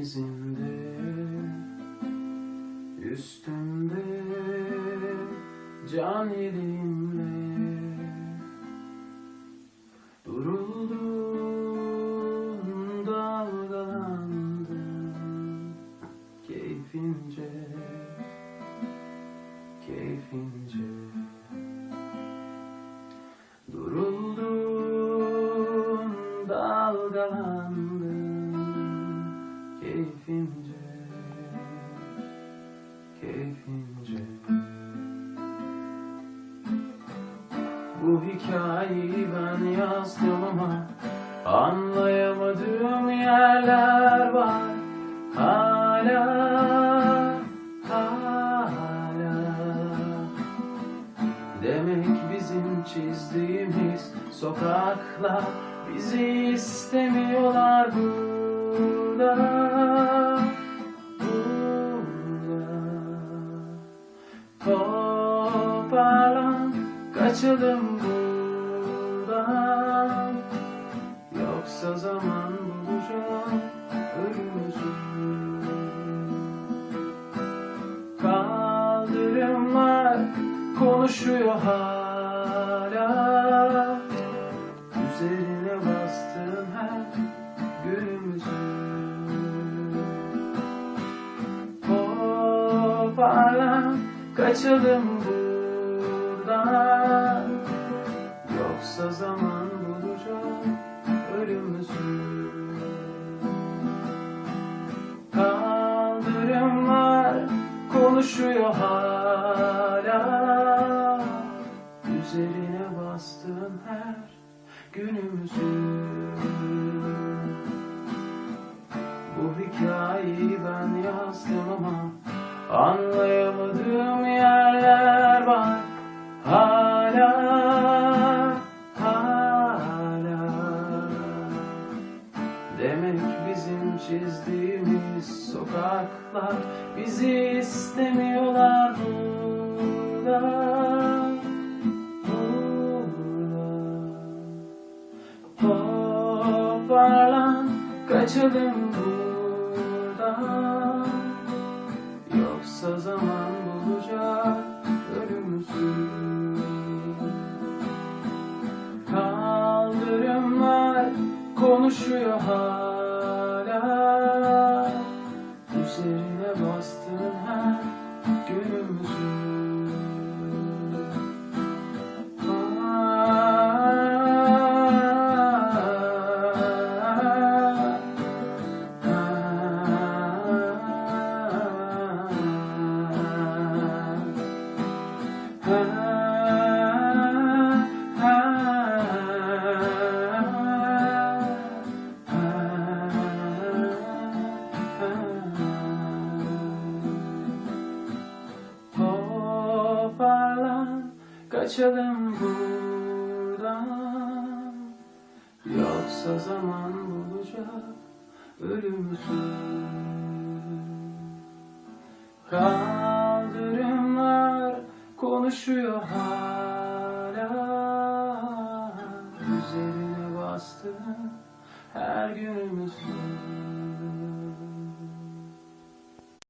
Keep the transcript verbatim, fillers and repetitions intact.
denizinde, üstümde can elimle duruldum, dalgalandım keyfince, keyfince. Duruldum, dalgalandım keyfince, keyfince. Bu hikayeyi ben yazdım ama anlayamadığım yerler var hala, hala. Demek bizim çizdiğimiz sokaklar bizi istemiyorlar burada, burada. Toparlan, kaçalım buradan, yoksa zaman bulacağım ölümümüzü. Kaldırımlar konuşuyor hala, üzerine bastığım her günümüzün. Toparlan, kaçalım buradan, yoksa zaman bulacak ölümümüzü. Kaldırımlar konuşuyor hala, üzerine bastığım her günümüzün. Bu hikayeyi ben yazdım ama anlayamadığım yerler var hala, hala. Demek bizim çizdiğimiz sokaklar bizi istemiyorlar burada, burada. Toparlan, kaçalım buradan, yoksa zaman bulacak ölümümüzü. Kaldırımlar konuşuyor hala, üzerine bastığın her günümüzün. Toparlan, kaçalım buradan, yoksa zaman bulacak ölümümüzü. Kaldırımlar konuşuyor hala, üzerine bastığım her günümüzün.